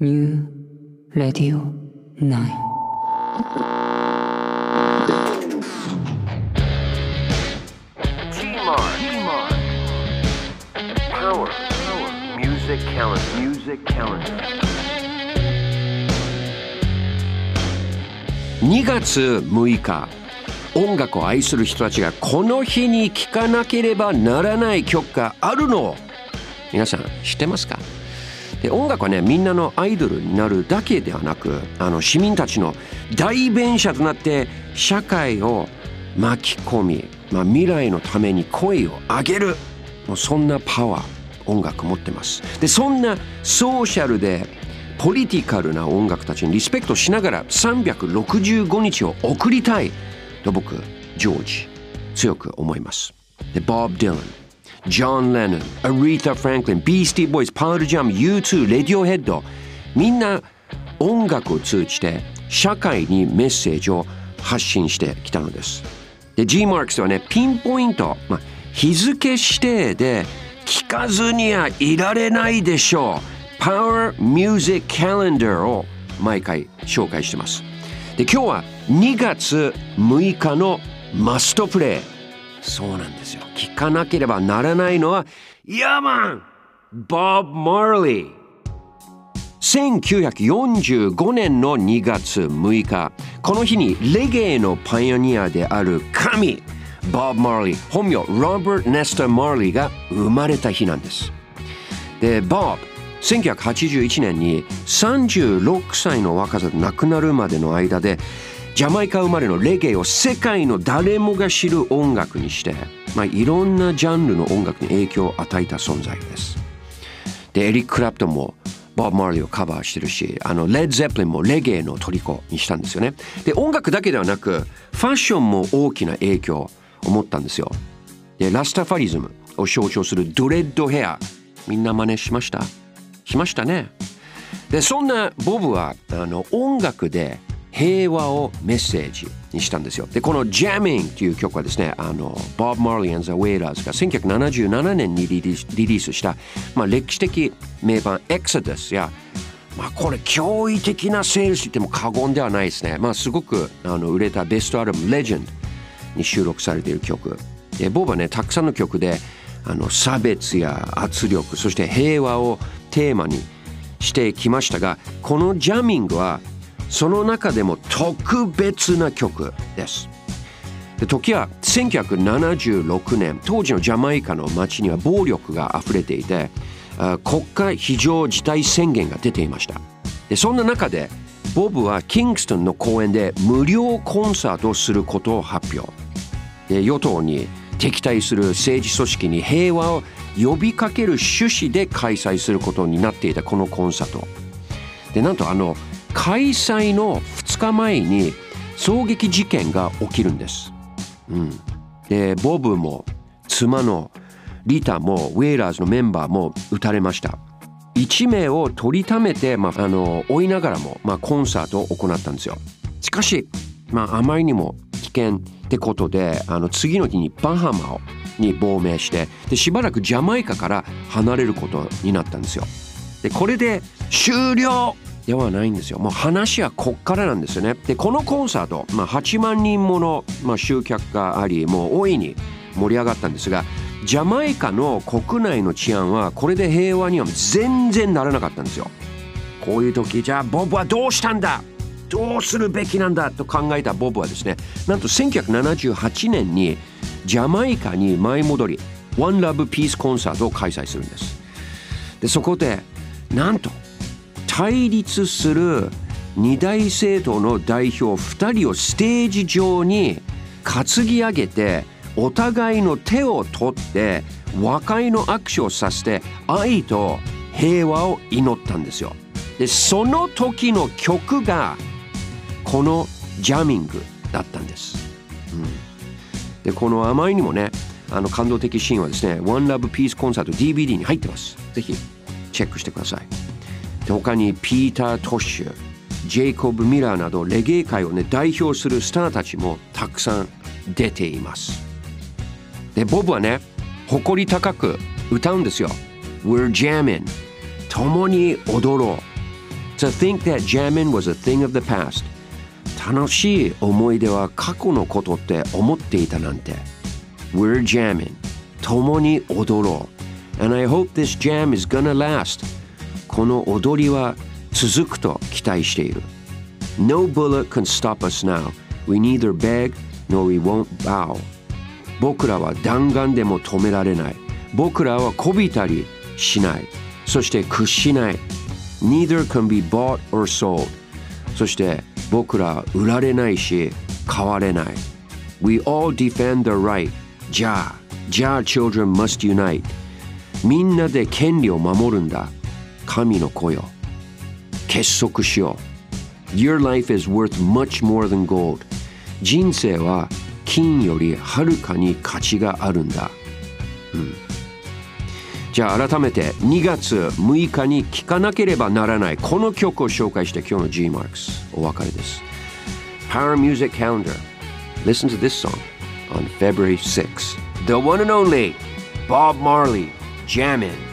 New Radio 9 Power Music Calendar 2月6日、音楽を愛する人たちがこの日に聴かなければならない曲があるのを皆さん知ってますか？で、音楽はね、みんなのアイドルになるだけではなく、市民たちの代弁者となって社会を巻き込み、未来のために声を上げる、もうそんなパワー音楽持ってます。で、そんなソーシャルでポリティカルな音楽たちにリスペクトしながら365日を送りたいと僕ジョージ強く思います。で、ボブ・ディラン、ジョン・レノン、アリータ・フランクリン、ビースティー・ボーイズ、パール・ジャム、U2、レディオヘッド、みんな音楽を通じて社会にメッセージを発信してきたのです。で、G マークスはね、ピンポイント、日付指定で聞かずにはいられないでしょう、Power Music Calendar を毎回紹介してます。で、今日は2月6日のマストプレイ。そうなんですよ。聞かなければならないのは、ヤーマン、ボブ・マーリー。1945年の2月6日、この日にレゲエのパイオニアである神、ボブ・マーリー、本名ロバート・ネスター・マーリーが生まれた日なんです。で、ボブ、1981年に36歳の若さで亡くなるまでの間で、ジャマイカ生まれのレゲエを世界の誰もが知る音楽にして、いろんなジャンルの音楽に影響を与えた存在です。で、エリック・クラプトンもボブ・マーリーをカバーしてるし、レッド・ゼップリンもレゲエの虜にしたんですよね。で、音楽だけではなくファッションも大きな影響を持ったんですよ。で、ラスタファリズムを象徴するドレッドヘア、みんな真似しましたね。で、そんなボブは音楽で平和をメッセージにしたんですよ。で、この Jamming という曲はですね、ボブ・マーリー&ザ・ウェイラーズが1977年にリリースした、歴史的名盤 Exodus や、これ驚異的なセールスと言っても過言ではないですね。すごく売れたベストアルバム Legend に収録されている曲で、ボブはね、たくさんの曲で差別や圧力、そして平和をテーマにしてきましたが、この Jamming はその中でも特別な曲です。で、時は1976年、当時のジャマイカの街には暴力があふれていて、国家非常事態宣言が出ていました。で、そんな中でボブはキングストンの公園で無料コンサートをすることを発表。で、与党に敵対する政治組織に平和を呼びかける趣旨で開催することになっていたこのコンサートで、なんと開催の2日前に狙撃事件が起きるんです。で、ボブも妻のリタもウェイラーズのメンバーも撃たれました。1名を取りためて、追いながらも、コンサートを行ったんですよ。しかし、あまりにも危険ってことで、次の日にバハマに亡命して、で、しばらくジャマイカから離れることになったんですよ。で、これで終了ではないんですよ。もう話はこっからなんですよね。で、このコンサート、8万人もの、集客があり、もう大いに盛り上がったんですが、ジャマイカの国内の治安はこれで平和には全然ならなかったんですよ。こういう時、じゃあボブはどうしたんだ、どうするべきなんだと考えたボブはですね、なんと1978年にジャマイカに舞い戻り One Love Peace コンサートを開催するんです。で、そこでなんと対立する二大政党の代表2人をステージ上に担ぎ上げて、お互いの手を取って和解の握手をさせて愛と平和を祈ったんですよ。で、その時の曲がこのジャミングだったんです。で、このあまりにもね、感動的シーンはですね、One Love Peace コンサート DVD に入ってます。ぜひチェックしてください。で、他にピーター・トッシュ、ジェイコブ・ミラーなどレゲエ界をね、代表するスターたちもたくさん出ています。で、ボブはね、誇り高く歌うんですよ。We're jamming、共に踊ろう。 To think that jamming was a thing of the past. 楽しい思い出は過去のことって思っていたなんて。We're jamming. 共に踊ろう。And I hope this jam is gonna last. この踊りは続くと期待している。No bullet can stop us now. We neither beg nor we won't bow. 僕らは弾丸でも止められない。僕らはこびたりしない。そして屈しない。Neither can be bought or sold. そして僕らは売られないし買われない。We all defend the right. じゃあ children must unite. みんなで権利を守るんだ。神の子よ。結束しよう。Your life is worth much more than gold. 人生は金よりはるかに価値があるんだ。じゃあ改めて2月6日に聴かなければならないこの曲を紹介して今日の G Marks お別れです。Power Music Calendar. Listen to this song on February 6th. The one and only Bob Marley, Jammin'.